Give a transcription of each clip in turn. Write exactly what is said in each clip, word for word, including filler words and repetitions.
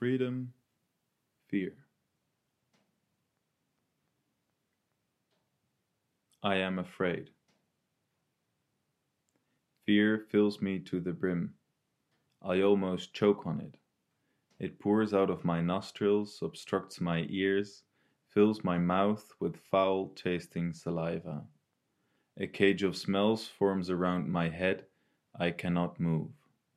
freedom, fear. I am afraid. Fear fills me to the brim. I almost choke on it. It pours out of my nostrils, obstructs my ears, fills my mouth with foul-tasting saliva. A cage of smells forms around my head. I cannot move.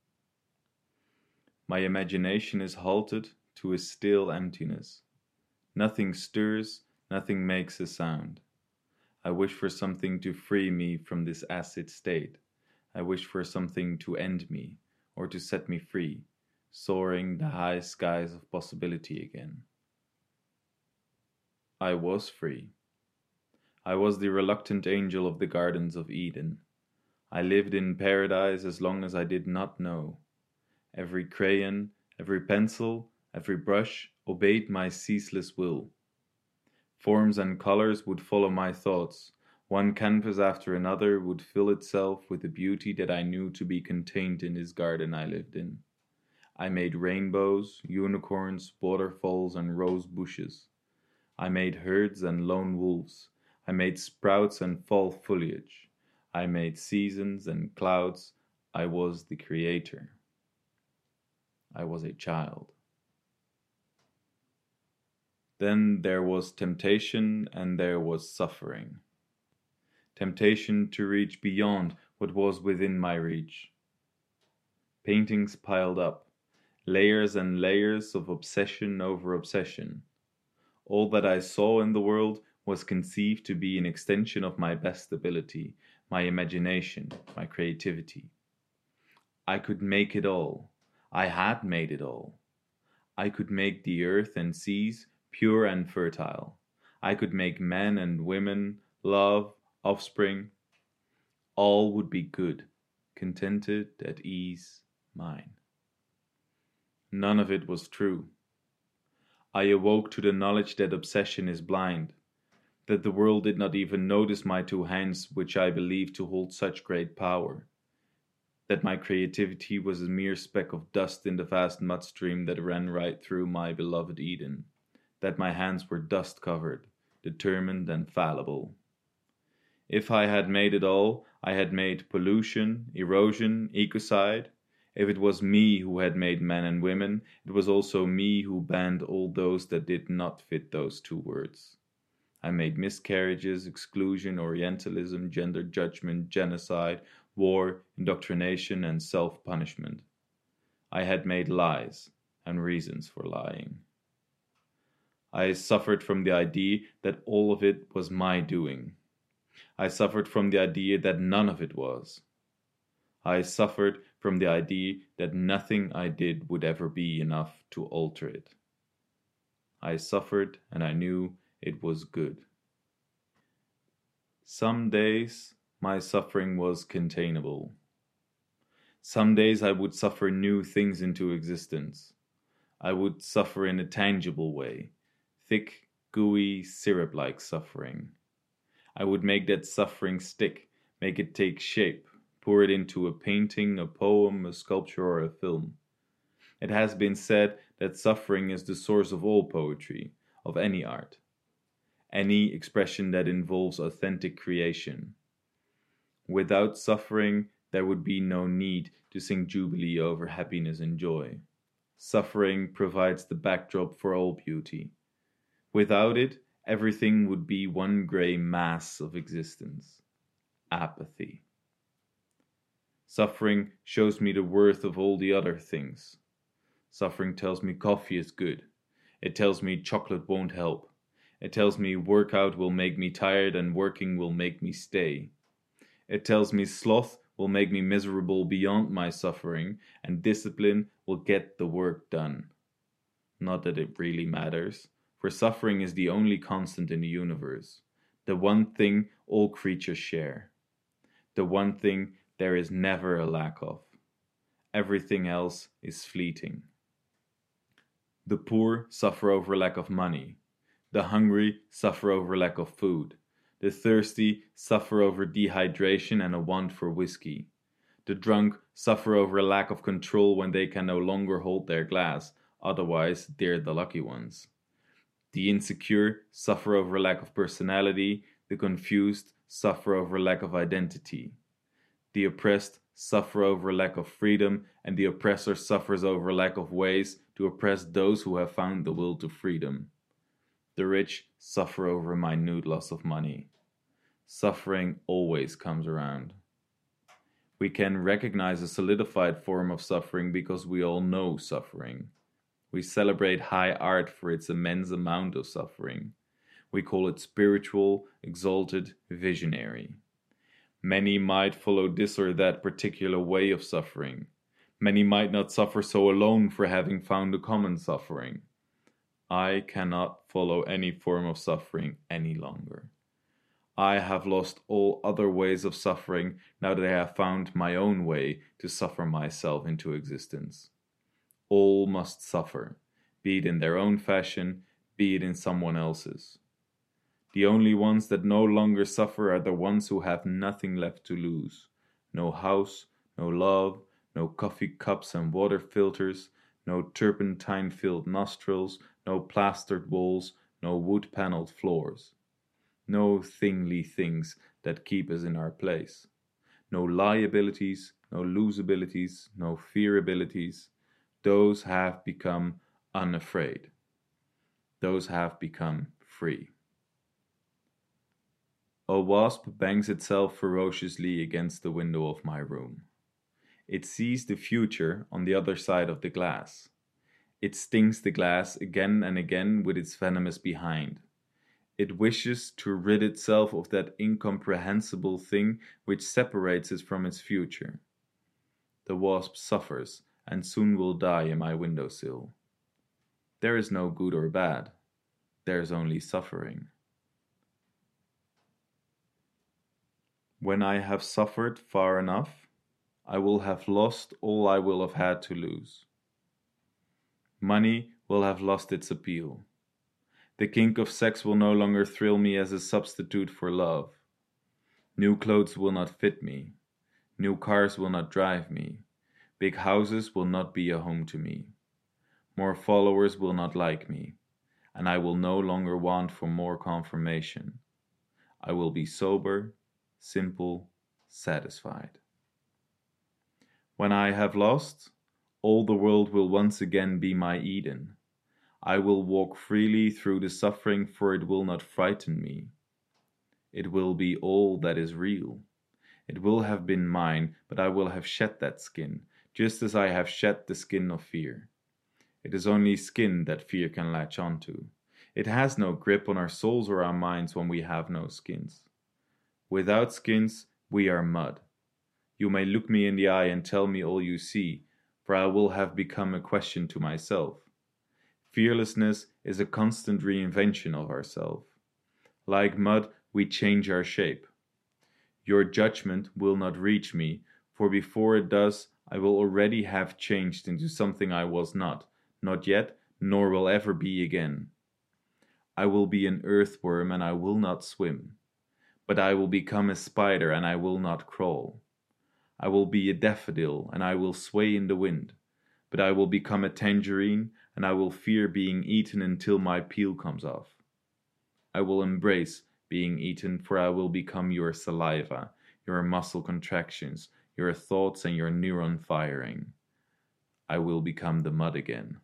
My imagination is halted to a still emptiness. Nothing stirs, nothing makes a sound. I wish for something to free me from this acid state. I wish for something to end me, or to set me free, soaring the high skies of possibility again. I was free. I was the reluctant angel of the gardens of Eden. I lived in paradise as long as I did not know. Every crayon, every pencil, every brush obeyed my ceaseless will. Forms and colors would follow my thoughts. One canvas after another would fill itself with the beauty that I knew to be contained in this garden I lived in. I made rainbows, unicorns, waterfalls, and rose bushes. I made herds and lone wolves. I made sprouts and fall foliage. I made seasons and clouds. I was the creator. I was a child. Then there was temptation and there was suffering. Temptation to reach beyond what was within my reach. Paintings piled up, layers and layers of obsession over obsession. All that I saw in the world was conceived to be an extension of my best ability, my imagination, my creativity. I could make it all. I had made it all. I could make the earth and seas pure and fertile. I could make men and women, love, offspring. All would be good, contented, at ease, mine. None of it was true. I awoke to the knowledge that obsession is blind, that the world did not even notice my two hands which I believed to hold such great power, that my creativity was a mere speck of dust in the vast mud stream that ran right through my beloved Eden, that my hands were dust-covered, determined and fallible. If I had made it all, I had made pollution, erosion, ecocide. If it was me who had made men and women, it was also me who banned all those that did not fit those two words. I made miscarriages, exclusion, Orientalism, gender judgment, genocide, war, indoctrination, and self-punishment. I had made lies and reasons for lying. I suffered from the idea that all of it was my doing. I suffered from the idea that none of it was. I suffered from the idea that nothing I did would ever be enough to alter it. I suffered, and I knew it was good. Some days my suffering was containable. Some days I would suffer new things into existence. I would suffer in a tangible way, thick, gooey, syrup-like suffering. I would make that suffering stick, make it take shape, pour it into a painting, a poem, a sculpture, or a film. It has been said that suffering is the source of all poetry, of any art, any expression that involves authentic creation. Without suffering, there would be no need to sing jubilee over happiness and joy. Suffering provides the backdrop for all beauty. Without it, everything would be one gray mass of existence. Apathy. Suffering shows me the worth of all the other things. Suffering tells me coffee is good. It tells me chocolate won't help. It tells me workout will make me tired and working will make me stay. It tells me sloth will make me miserable beyond my suffering, and discipline will get the work done. Not that it really matters, for suffering is the only constant in the universe, the one thing all creatures share, the one thing there is never a lack of. Everything else is fleeting. The poor suffer over lack of money. The hungry suffer over lack of food. The thirsty suffer over dehydration and a want for whiskey. The drunk suffer over a lack of control when they can no longer hold their glass. otherwise they're the lucky ones. The insecure suffer over lack of personality, the confused suffer over lack of identity. The oppressed suffer over lack of freedom, and the oppressor suffers over lack of ways to oppress those who have found the will to freedom. The rich suffer over minute loss of money. Suffering always comes around. We can recognize a solidified form of suffering because we all know suffering. We celebrate high art for its immense amount of suffering. We call it spiritual, exalted, visionary. Many might follow this or that particular way of suffering. Many might not suffer so alone for having found a common suffering. I cannot follow any form of suffering any longer. I have lost all other ways of suffering now that I have found my own way to suffer myself into existence. All must suffer, be it in their own fashion, be it in someone else's. The only ones that no longer suffer are the ones who have nothing left to lose. No house, no love, no coffee cups and water filters, no turpentine-filled nostrils, no plastered walls, no wood-paneled floors. No thingly things that keep us in our place. No liabilities, no losabilities, no fearabilities. Those have become unafraid. Those have become free. A wasp bangs itself ferociously against the window of my room. It sees the future on the other side of the glass. It stings the glass again and again with its venomous behind. It wishes to rid itself of that incomprehensible thing which separates it from its future. The wasp suffers and soon will die in my windowsill. There is no good or bad. There is only suffering. When I have suffered far enough, I will have lost all I will have had to lose. Money will have lost its appeal. The kink of sex will no longer thrill me as a substitute for love. New clothes will not fit me. New cars will not drive me. Big houses will not be a home to me. More followers will not like me, and I will no longer want for more confirmation. I will be sober, simple, satisfied. When I have lost, all the world will once again be my Eden. I will walk freely through the suffering, for it will not frighten me. It will be all that is real. It will have been mine, but I will have shed that skin, just as I have shed the skin of fear. It is only skin that fear can latch onto. It has no grip on our souls or our minds when we have no skins. Without skins, we are mud. You may look me in the eye and tell me all you see, for I will have become a question to myself. Fearlessness is a constant reinvention of ourselves. Like mud, we change our shape. Your judgment will not reach me, for before it does, I will already have changed into something I was not, not yet, nor will ever be again. I will be an earthworm and I will not swim, but I will become a spider and I will not crawl. I will be a daffodil and I will sway in the wind, but I will become a tangerine and I will fear being eaten until my peel comes off. I will embrace being eaten, for I will become your saliva, your muscle contractions, your thoughts and your neuron firing. I will become the mud again.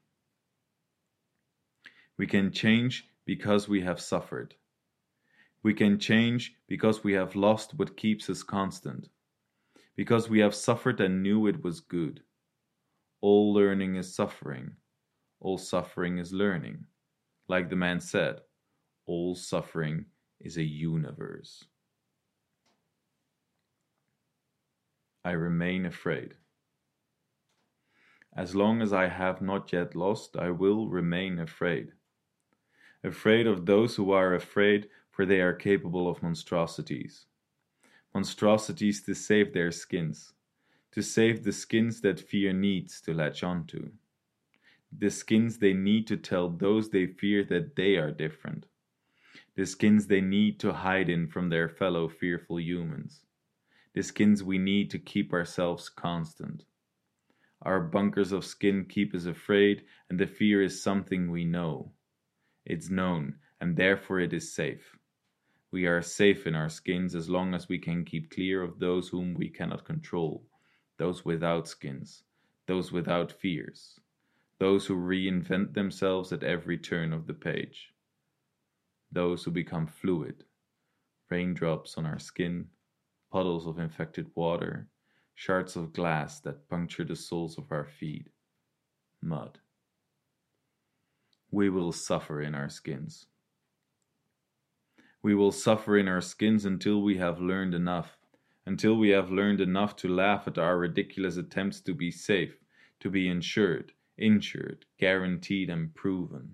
We can change because we have suffered. We can change because we have lost what keeps us constant. Because we have suffered and knew it was good. All learning is suffering. All suffering is learning. Like the man said, all suffering is a universe. I remain afraid. As long as I have not yet lost, I will remain afraid. Afraid of those who are afraid, for they are capable of monstrosities. Monstrosities to save their skins, to save the skins that fear needs to latch onto. The skins they need to tell those they fear that they are different. The skins they need to hide in from their fellow fearful humans. The skins we need to keep ourselves constant. Our bunkers of skin keep us afraid, and the fear is something we know. It's known, and therefore it is safe. We are safe in our skins as long as we can keep clear of those whom we cannot control, those without skins, those without fears, those who reinvent themselves at every turn of the page, those who become fluid, raindrops on our skin, puddles of infected water, shards of glass that puncture the soles of our feet, mud. We will suffer in our skins. We will suffer in our skins until we have learned enough, until we have learned enough to laugh at our ridiculous attempts to be safe, to be insured, insured, guaranteed, and proven.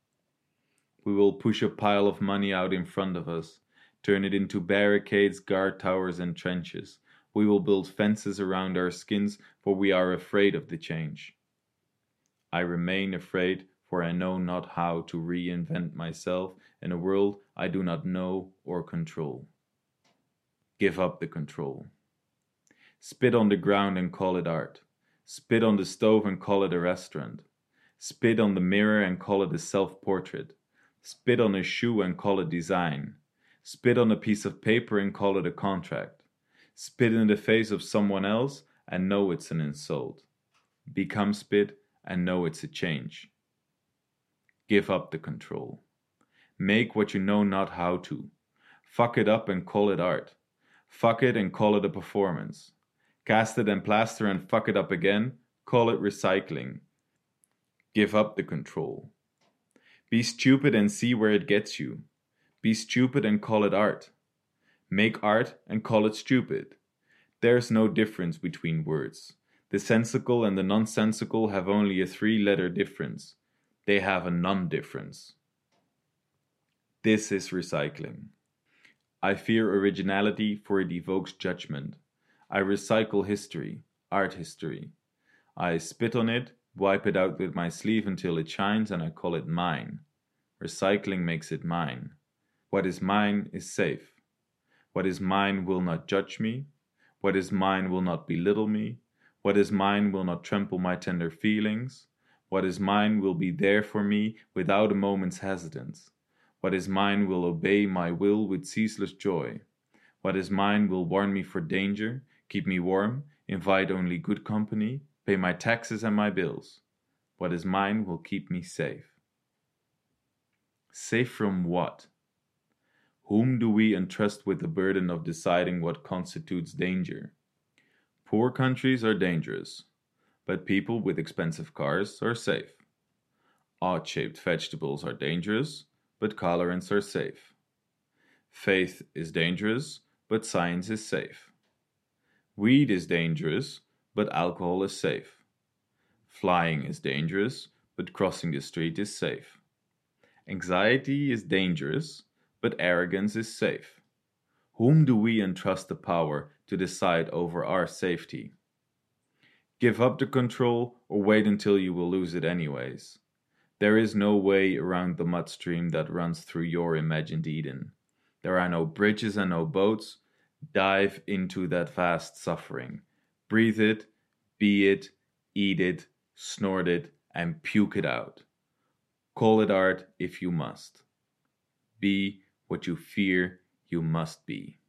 We will push a pile of money out in front of us, turn it into barricades, guard towers, and trenches. We will build fences around our skins, for we are afraid of the change. I remain afraid, for I know not how to reinvent myself in a world I do not know or control. Give up the control. Spit on the ground and call it art. Spit on the stove and call it a restaurant. Spit on the mirror and call it a self-portrait. Spit on a shoe and call it design. Spit on a piece of paper and call it a contract. Spit in the face of someone else and know it's an insult. Become spit and know it's a change. Give up the control. Make what you know not how to. Fuck it up and call it art. Fuck it and call it a performance. Cast it and plaster and fuck it up again. Call it recycling. Give up the control. Be stupid and see where it gets you. Be stupid and call it art. Make art and call it stupid. There's no difference between words. The sensical and the nonsensical have only a three-letter difference. They have a non-difference. This is recycling. I fear originality, for it evokes judgment. I recycle history, art history. I spit on it, wipe it out with my sleeve until it shines, and I call it mine. Recycling makes it mine. What is mine is safe. What is mine will not judge me. What is mine will not belittle me. What is mine will not trample my tender feelings. What is mine will be there for me without a moment's hesitance. What is mine will obey my will with ceaseless joy. What is mine will warn me for danger, keep me warm, invite only good company, pay my taxes and my bills. What is mine will keep me safe. Safe from what? Whom do we entrust with the burden of deciding what constitutes danger? Poor countries are dangerous, but people with expensive cars are safe. Odd-shaped vegetables are dangerous, but colorants are safe. Faith is dangerous, but science is safe. Weed is dangerous, but alcohol is safe. Flying is dangerous, but crossing the street is safe. Anxiety is dangerous, but arrogance is safe. Whom do we entrust the power to decide over our safety? Give up the control or wait until you will lose it anyways. There is no way around the mud stream that runs through your imagined Eden. There are no bridges and no boats. Dive into that vast suffering. Breathe it, be it, eat it, snort it, and puke it out. Call it art if you must. Be what you fear you must be.